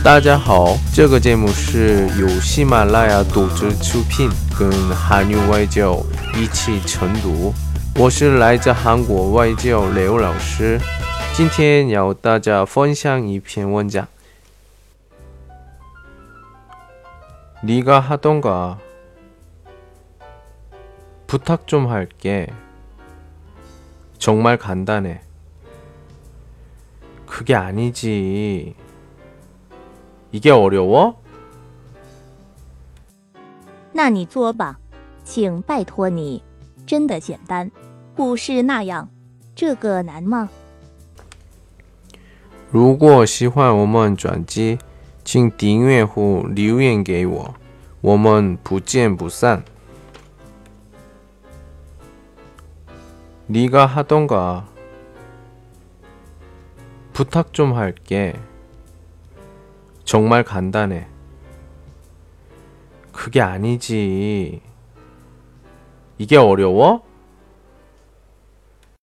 大家好，这个节目是由喜马拉雅独自出品，跟韩语外教一起晨读。我是来自韩国外教刘老师，今天要大家分享一篇文章。네가 하던가 부탁 좀 할게. 정말 간단해. 그게 아니지. 이게 어려워? 那你作吧，请拜托你，真的简单，不是那样。这个难吗？ 如果喜欢我们专辑，请订阅或留言给我，我们不见不散。네가 하던가 부탁 좀 할게. 정말 간단해. 그게 아니지. 이게 어려워?